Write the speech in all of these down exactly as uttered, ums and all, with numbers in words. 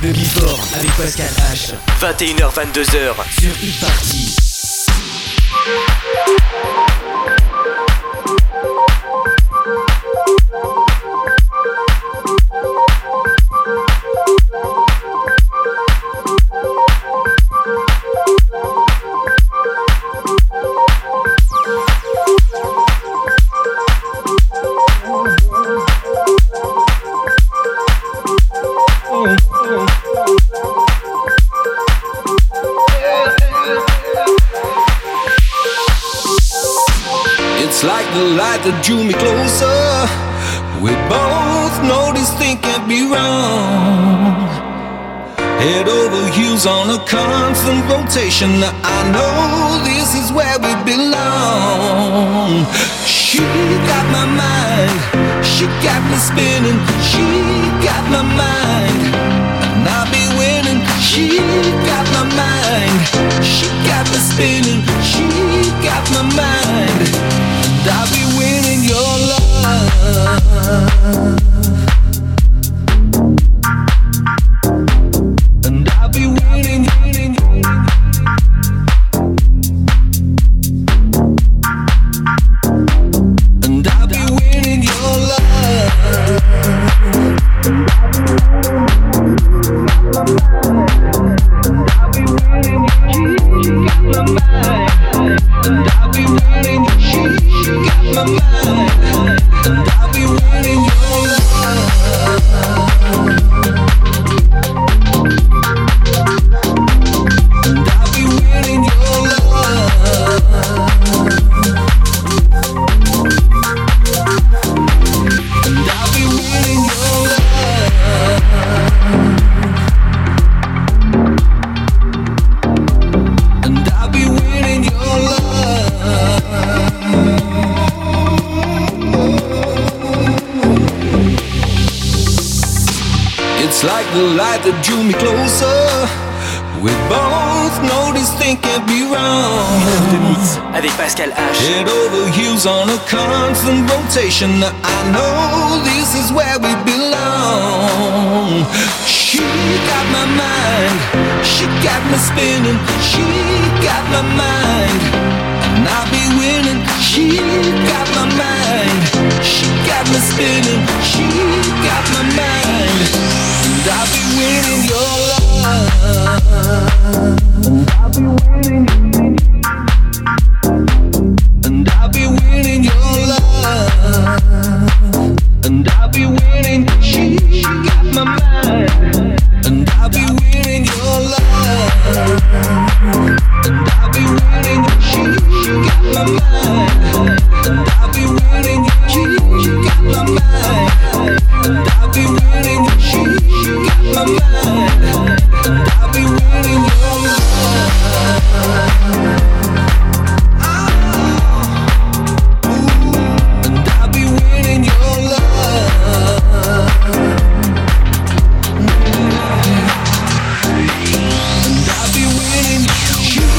Le Before avec Pascal H. vingt et une heures vingt-deux heures sur Hit Party. It's like the light that drew me closer. We both know this thing can't be wrong. Head over heels on a constant rotation. I know this is where we belong. She got my mind, she got me spinning. She got my mind, and I'll be winning. She got my mind, she got me spinning. She got my mind, and I'll be winning your love. And I'll be winning, winning, winning. And I'll be winning your love. And I'll be winning, she got my mind. And I'll be winning, she got my mind. And I'll be winning your love. And I'll be winning your love. And I'll be winning your love. And I'll be winning your love. It's like the light that drew me closer. We both know this thing can't be wrong. De mix avec Pascal H. Head over heels on a constant rotation. I know this is where we belong. She got my mind, she got me spinning. She got my mind, and I'll be winning. She got my mind, she got me spinning. She got my mind, and I'll be winning your love. And I'll be winning. And I'll be winning your love. And I'll be winning. She got my mind. And I'll be winning your love. And I'll be winning. She got my mind. And I'll be winning. She got my mind. And I'll be winning. She got my mind. And I'll be winning your love. And I'll be winning your love. And I'll be winning.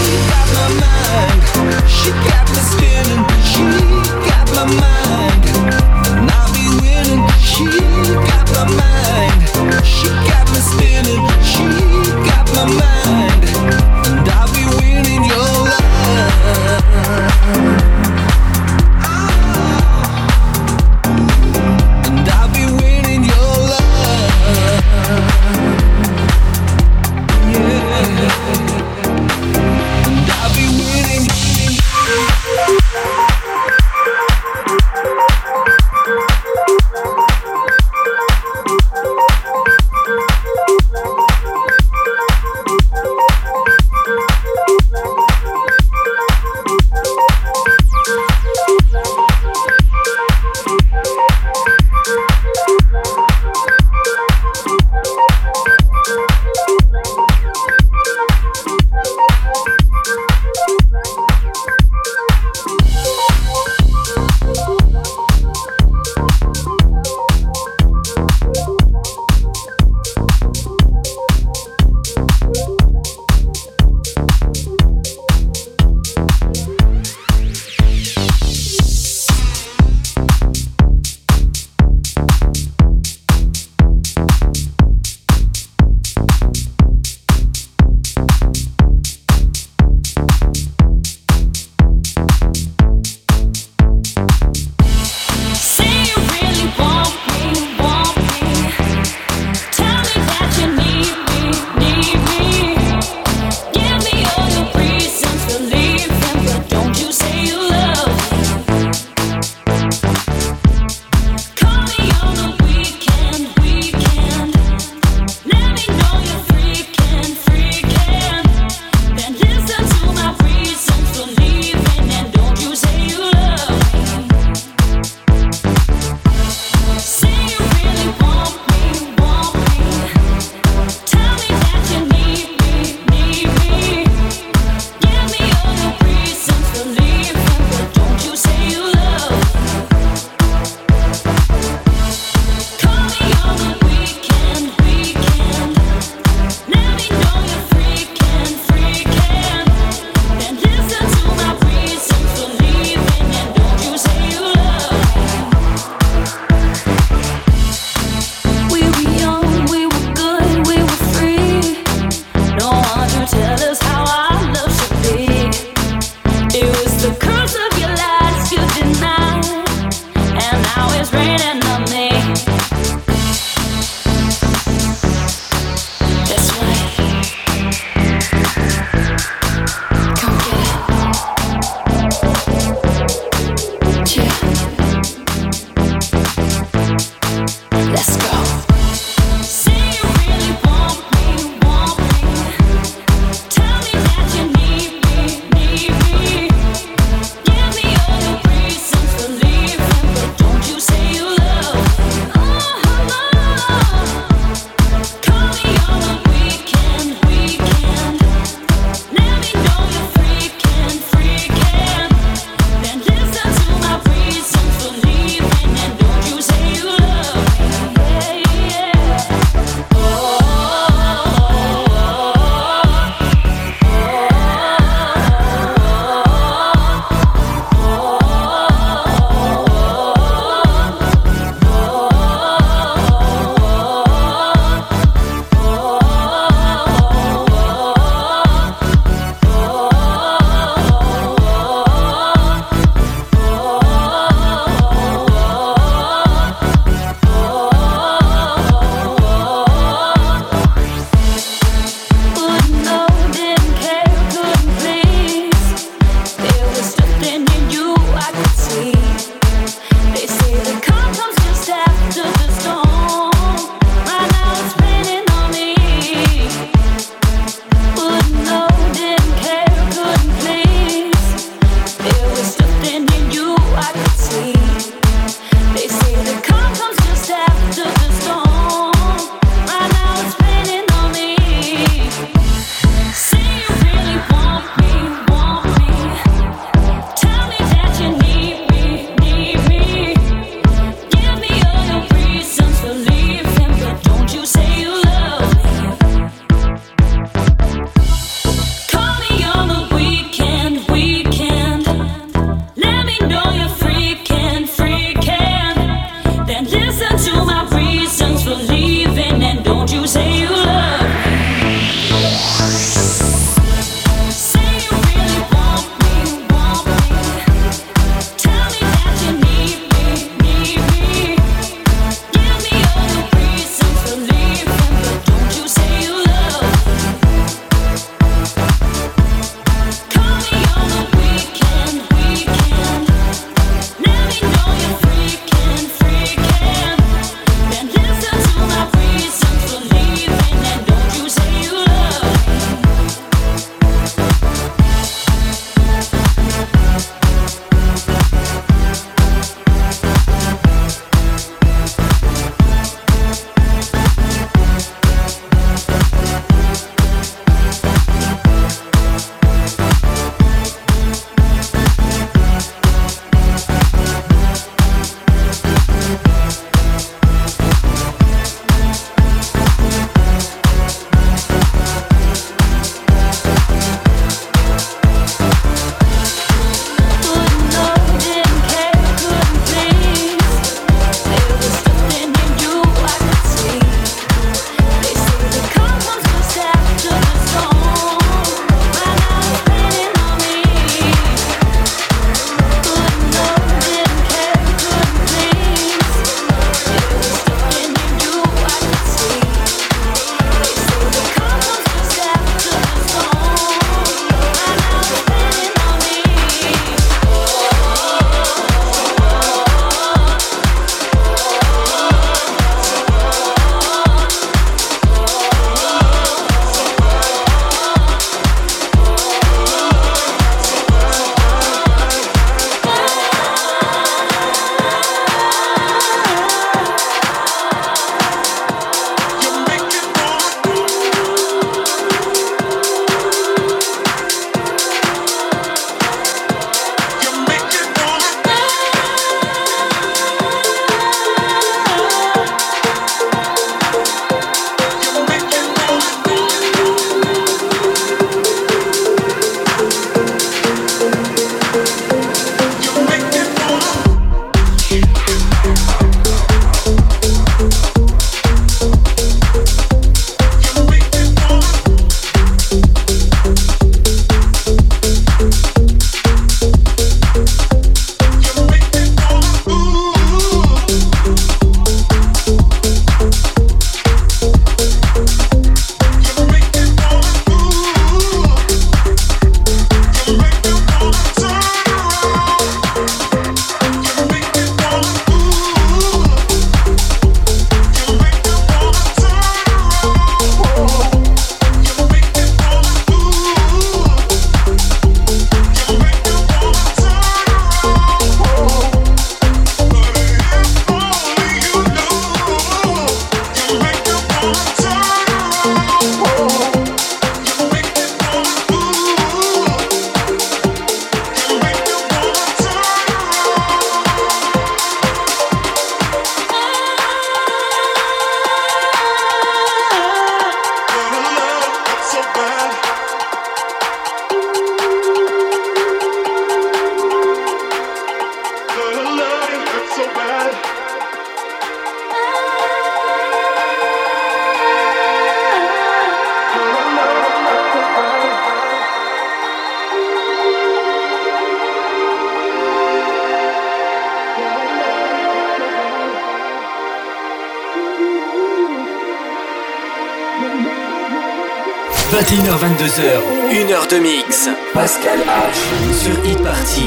vingt et une heures vingt-deux heures, une heure de mix. Pascal H sur Hit Party.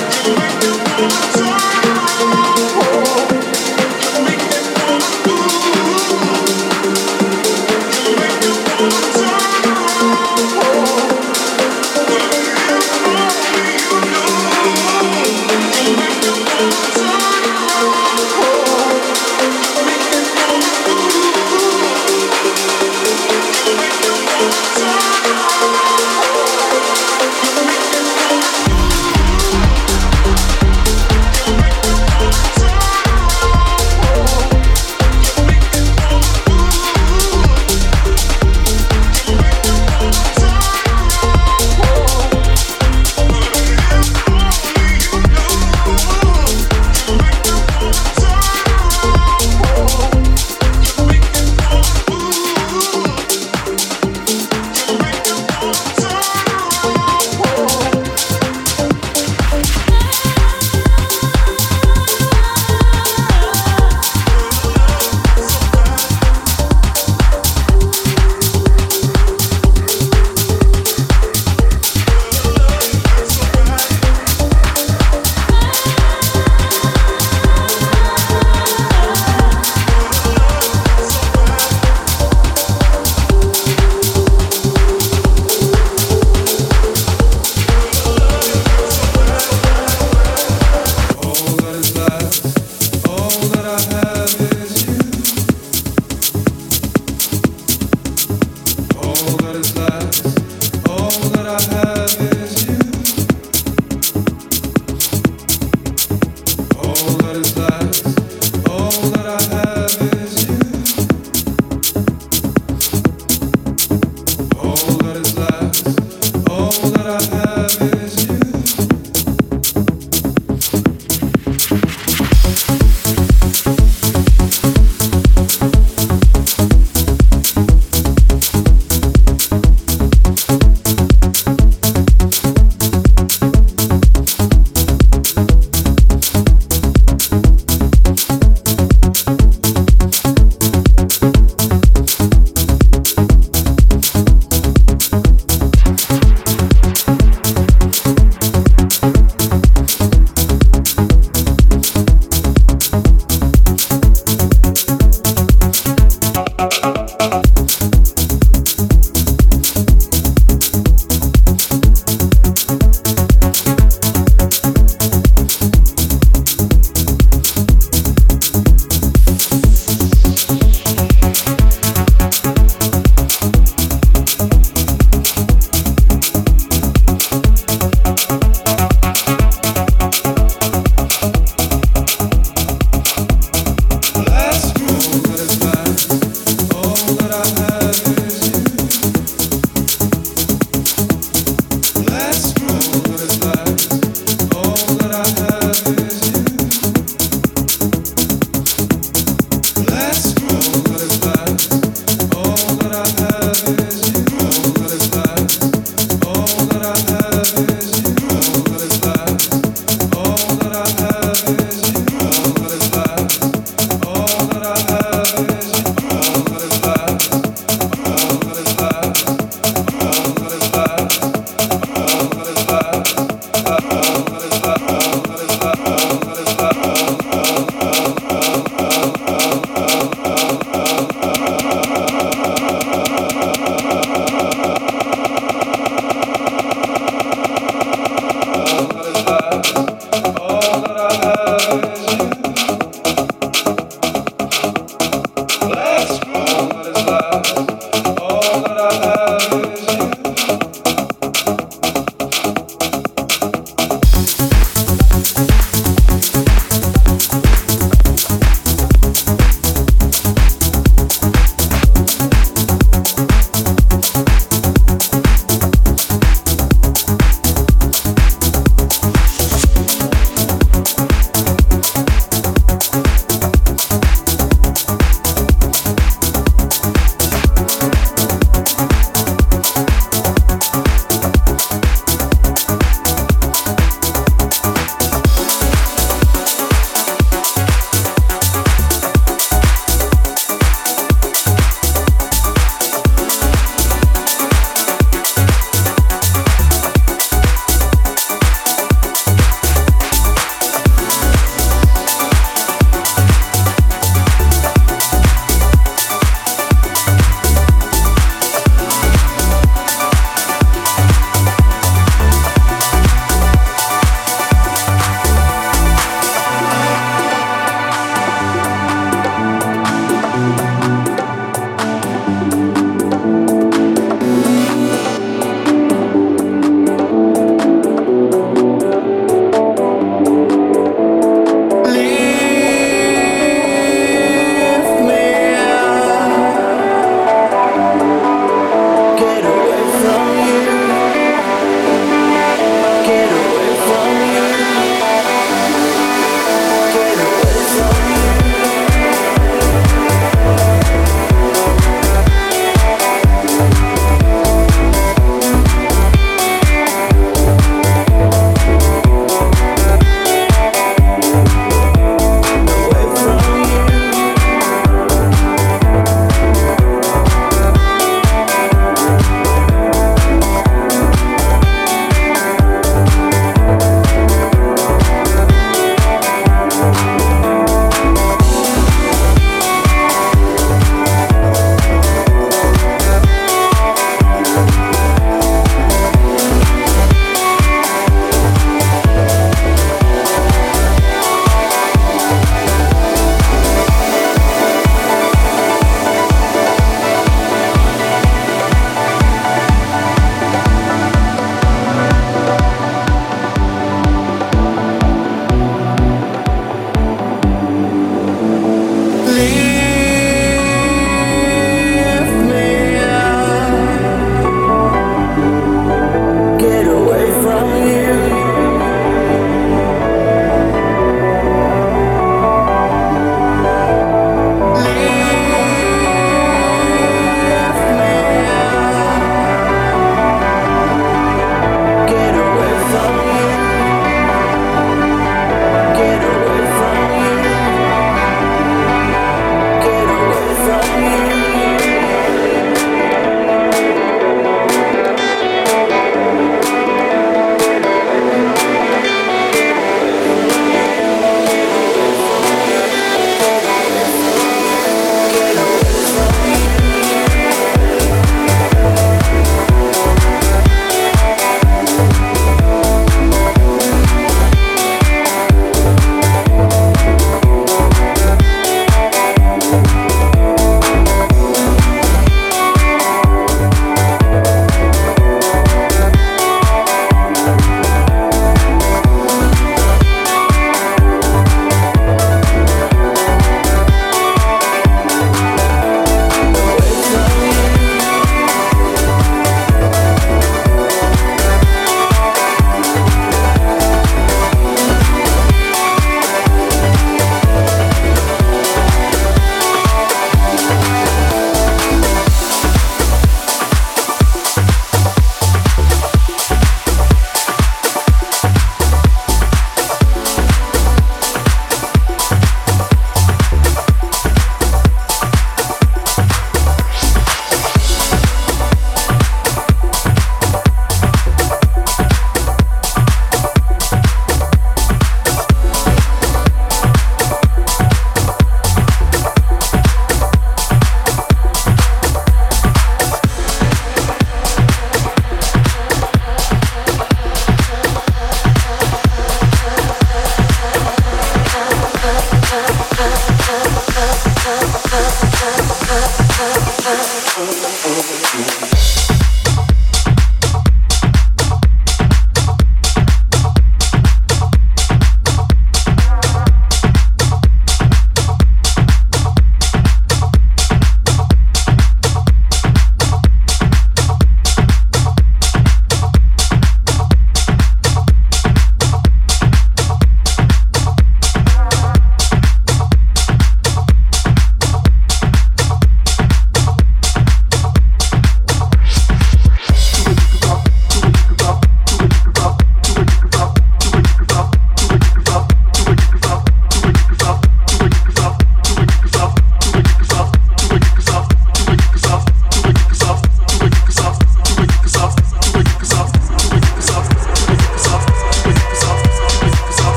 Ooh.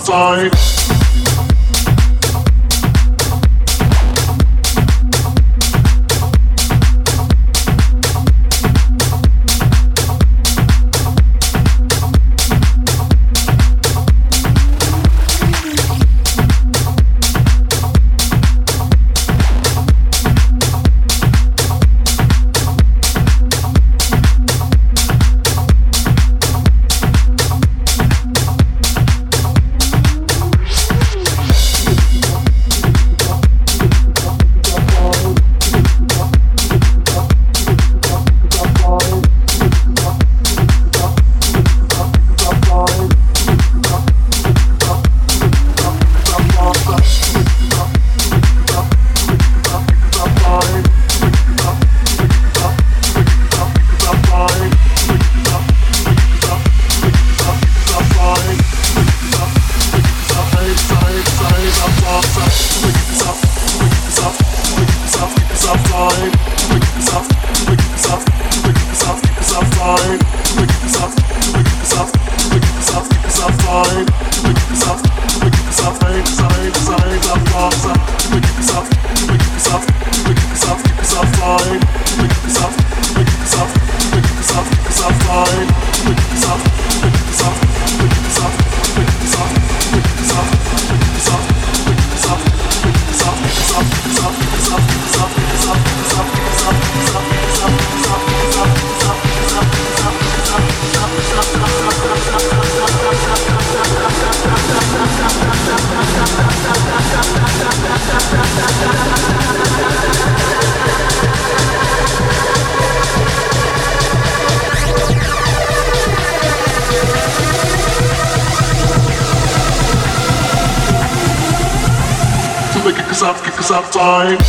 outside. Outside.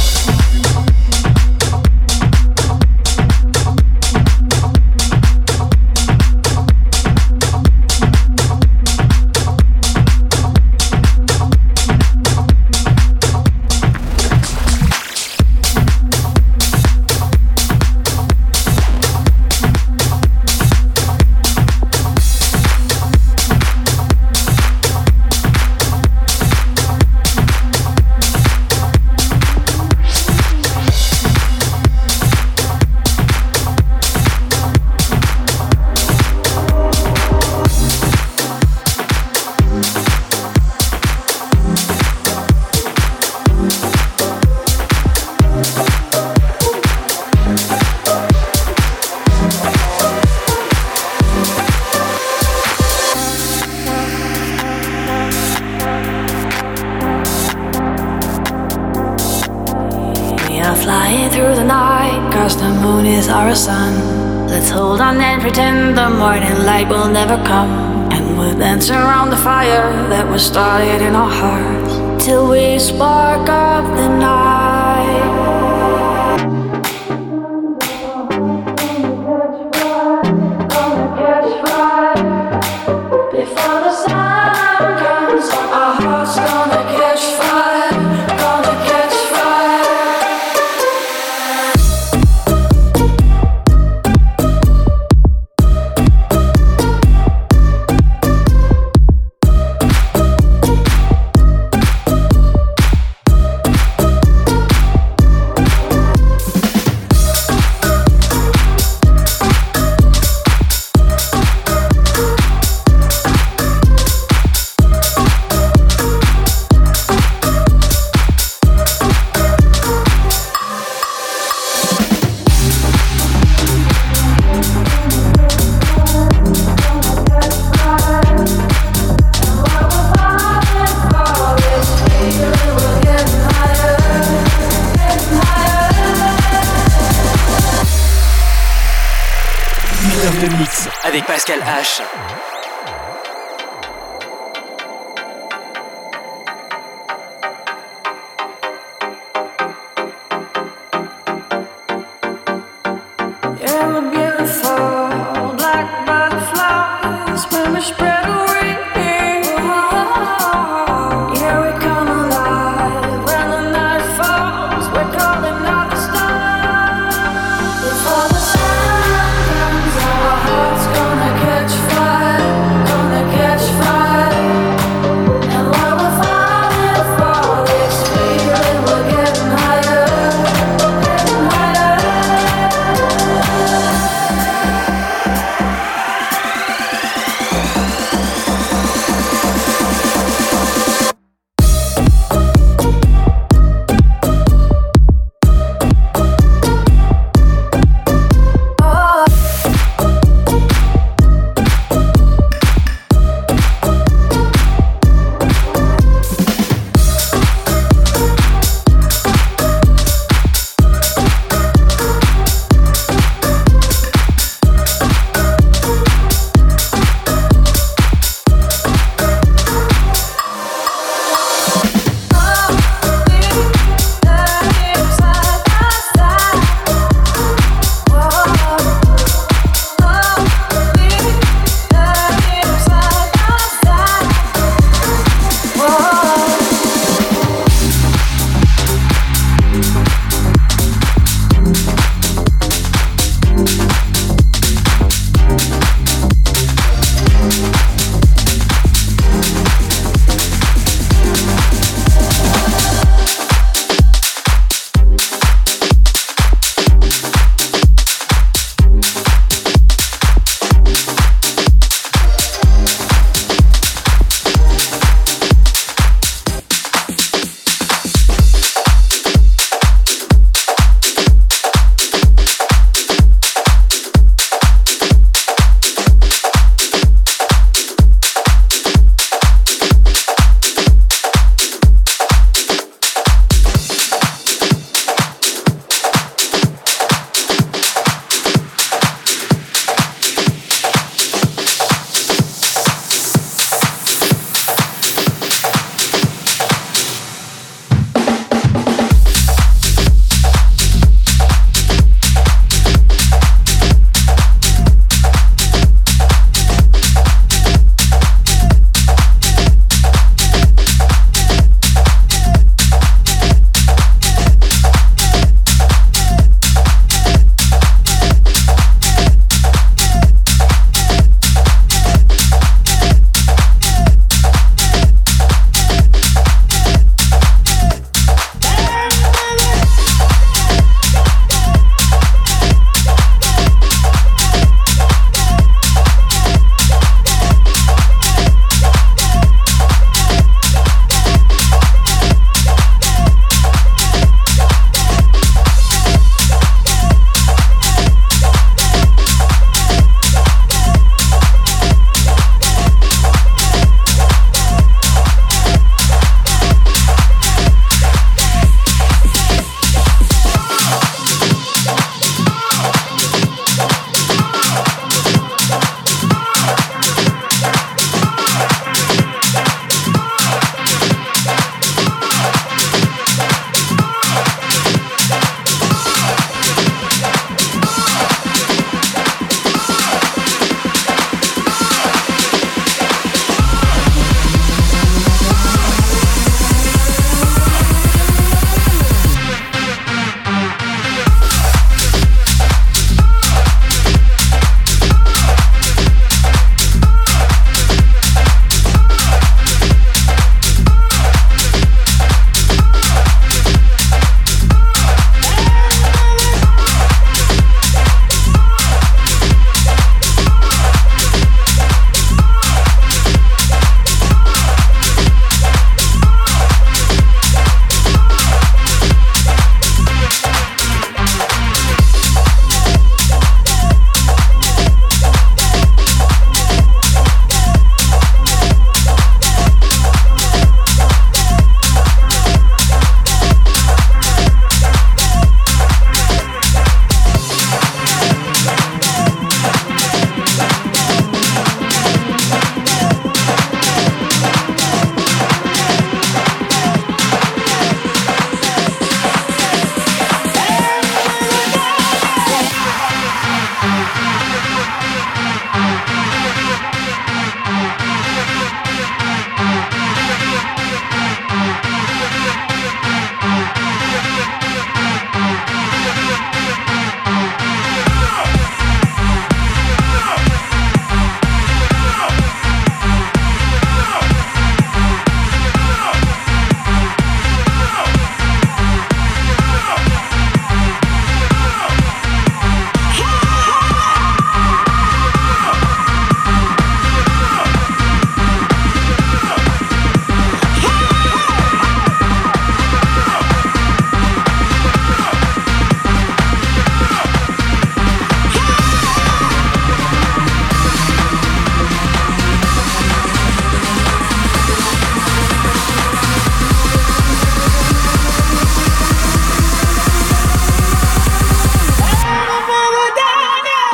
Our sun. Let's hold on and pretend the morning light will never come, and we'll dance around the fire that was started in our hearts till we spark up the night. Gonna catch fire before the sun comes up. Our hearts gonna catch fire. Gonna catch fire. Avec Pascal H. Gonna catch fire.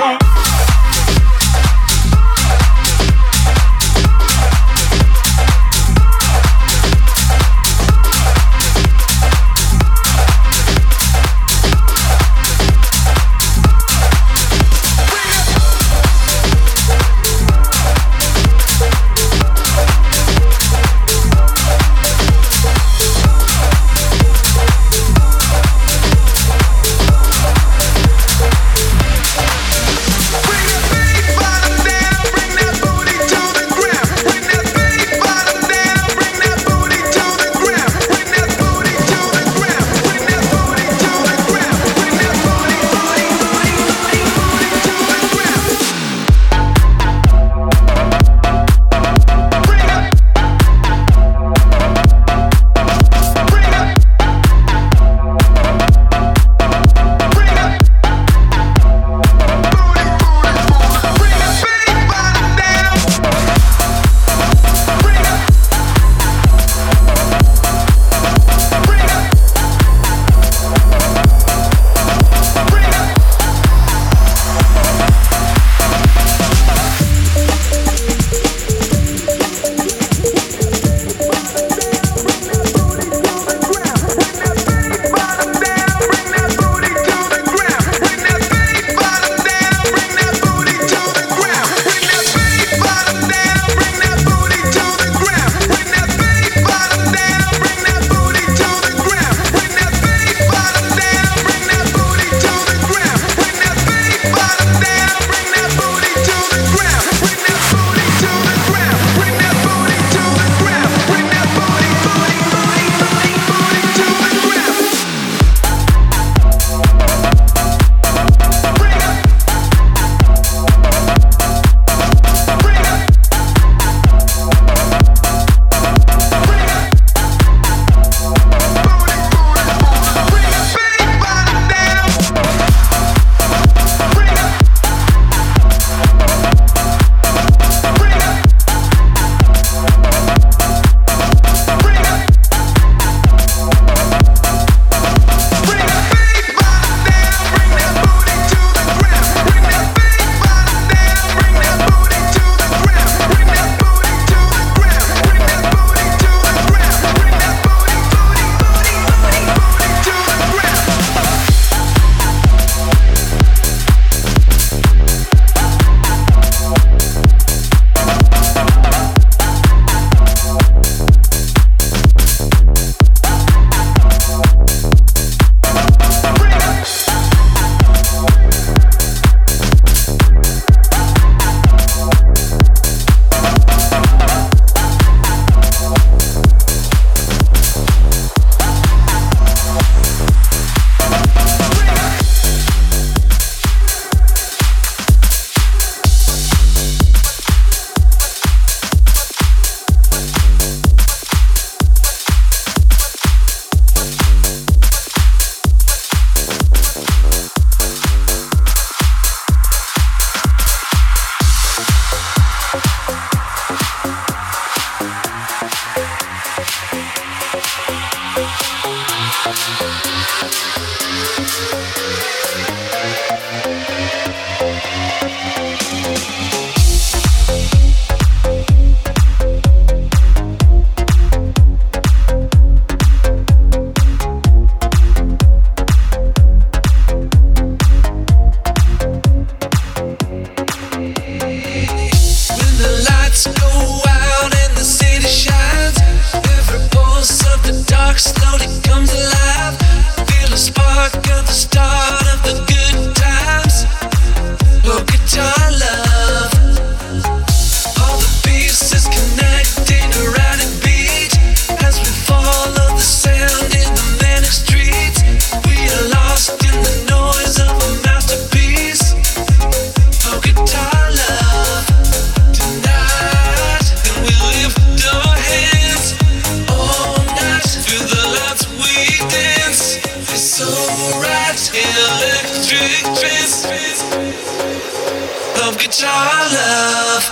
guitar love.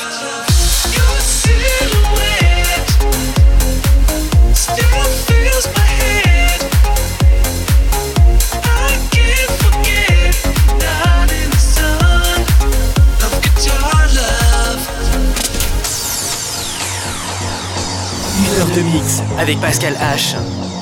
Your silhouette still fills my head. I can't forget, not in the sun. Mix avec Pascal H.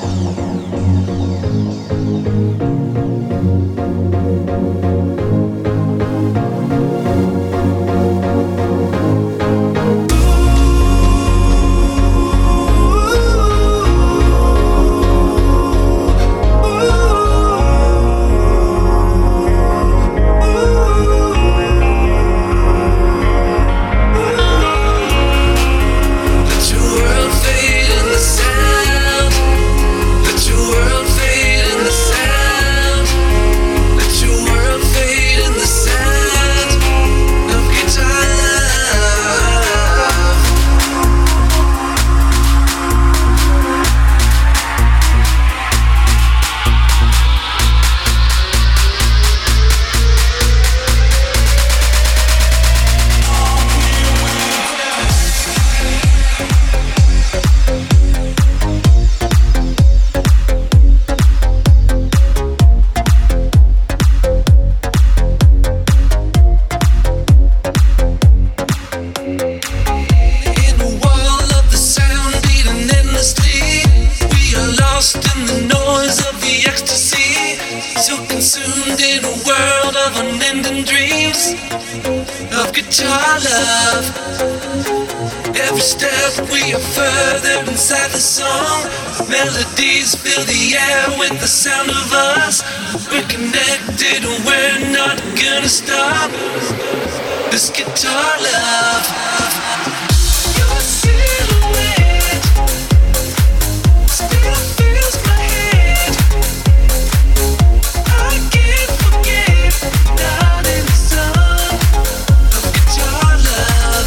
Melodies fill the air with the sound of us. We're connected and we're not gonna stop. This guitar love. Your silhouette still fills my head. I can't forget down in the sun of guitar love.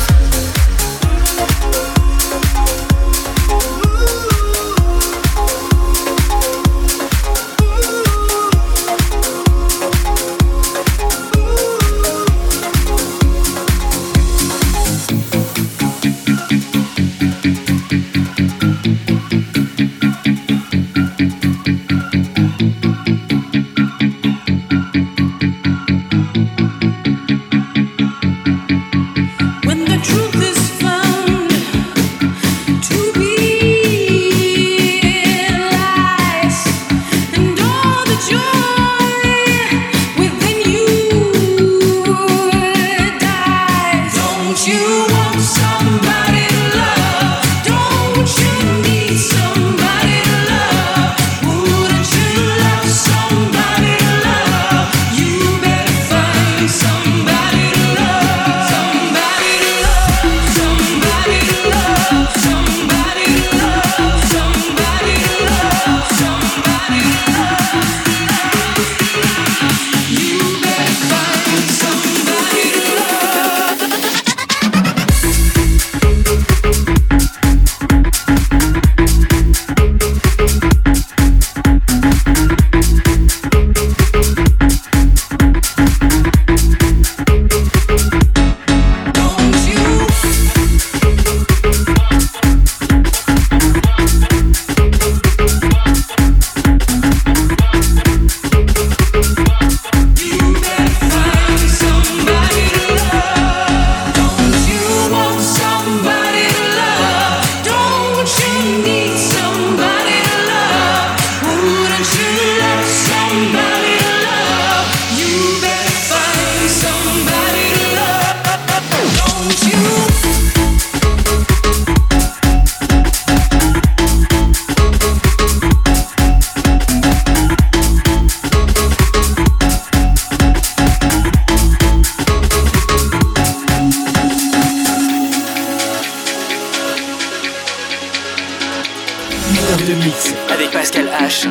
avec Pascal H.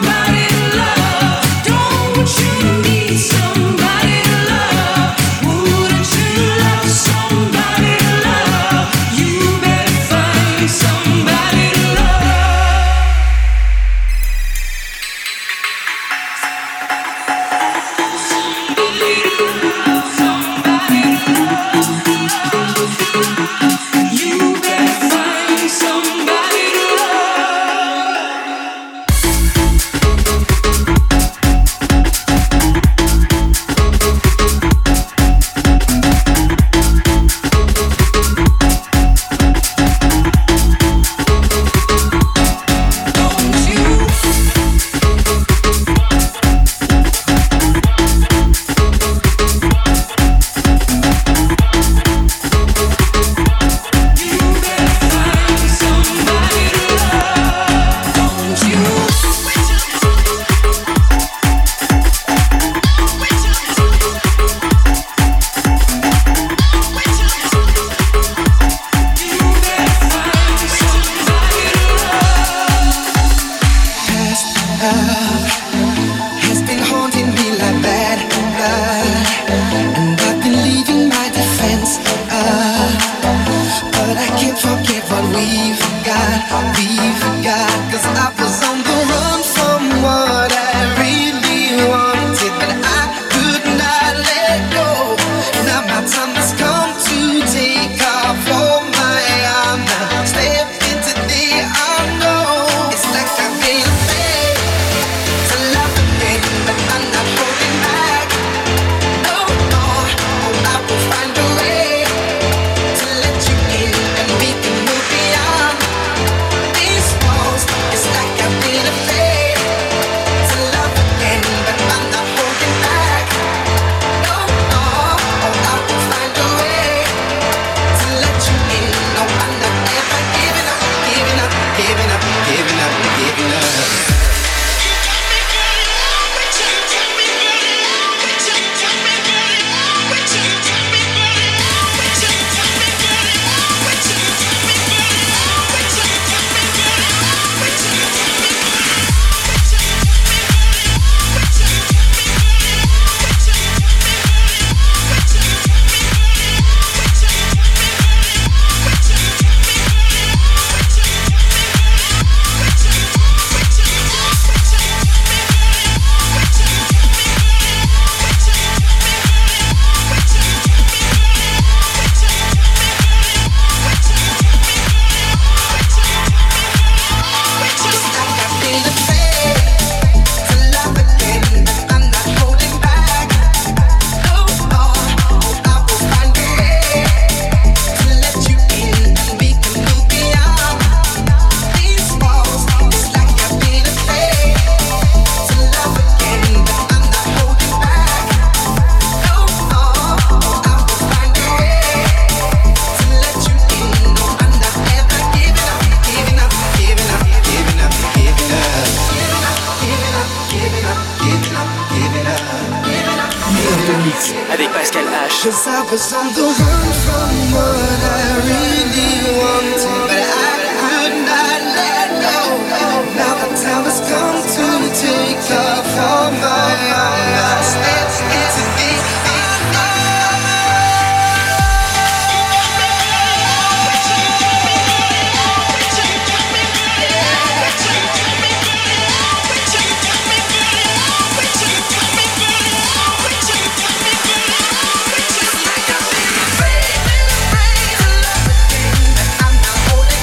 Somebody to love, don't you need somebody to love? Ooh. avec Pascal H. Cause I was on the run from what I really wanted, but I could not let go. Now the time has come to take off all my eyes. It's, it's a big I'm not holding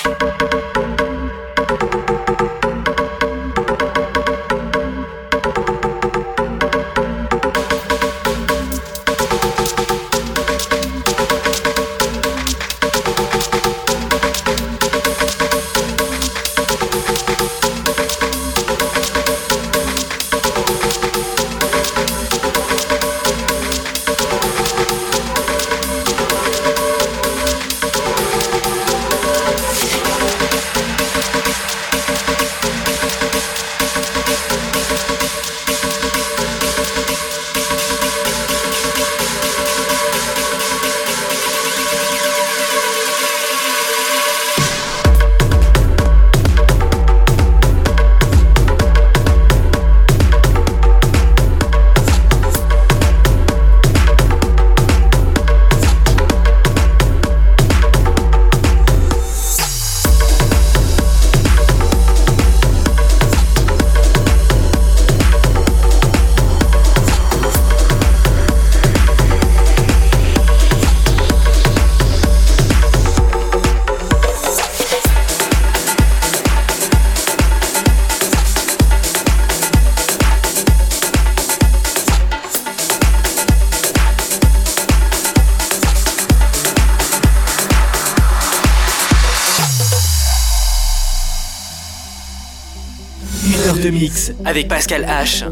De mix avec Pascal H.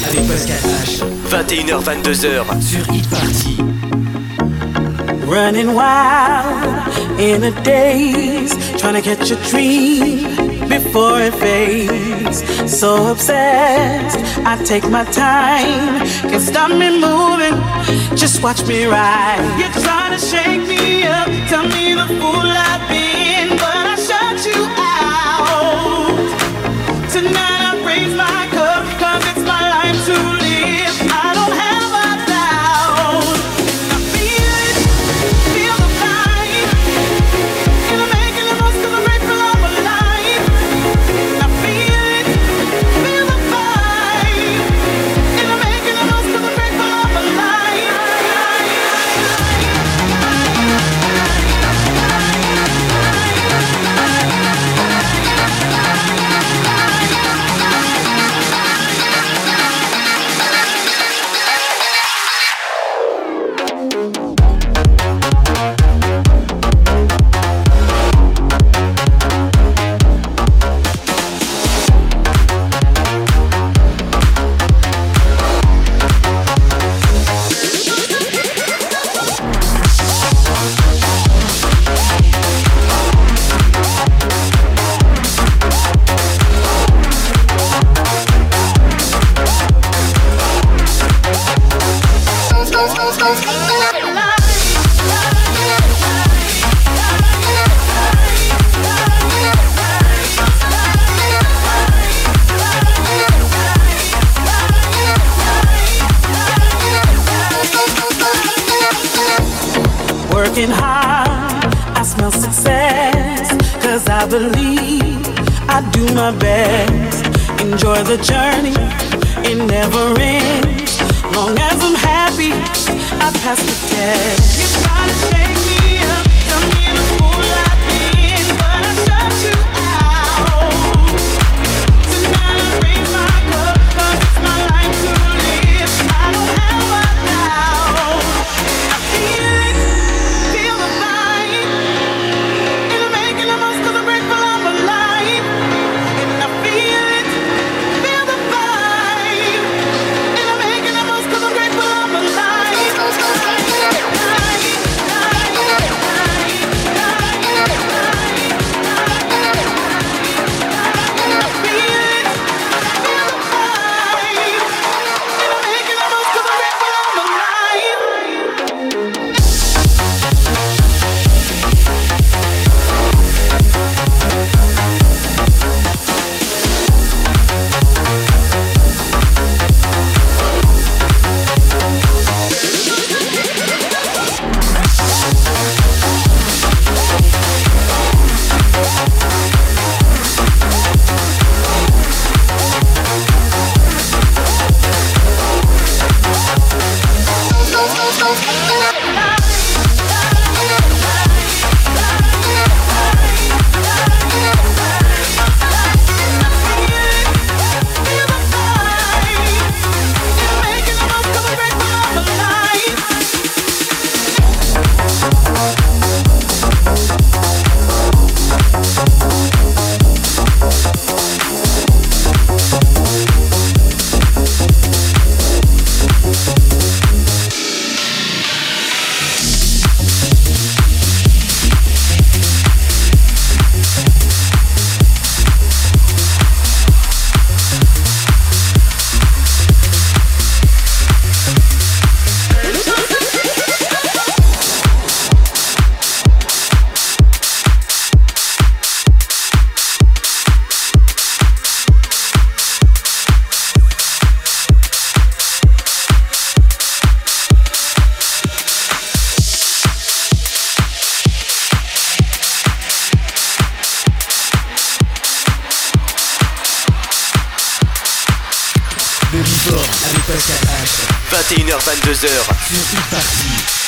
avec Pascal H. vingt et une heures vingt-deux heures sur Hit Party. Running wild in a daze, trying to catch a dream before it fades. So obsessed, I take my time, can't stop me moving, just watch me ride. You're trying to shake me up, tell me the fool I've been, but I shut you out. Tonight I raise my cup, cause it's my life to live. I don't have a doubt. And I feel it, feel the vibe. And I'm making the most of the grateful I'm alive. And I feel it, feel the vibe. And I'm making the most of the grateful I'm alive. Working hard, I smell success, cause I believe I do my best. Enjoy the journey, it never ends. Long as I'm happy, I pass the test. You try to shake me up, tell me the fool I've been, but I shut you out. Tonight I raise my cup, cause it's my life to live. I don't have a doubt. I feel it, feel the vibe. And I'm making the most of the grateful I'm alive. And I feel it, feel the vibe. And I'm making the most of the grateful I'm alive. Le Before avec Pascal H. vingt et une heures vingt-deux heures sur Hit Party.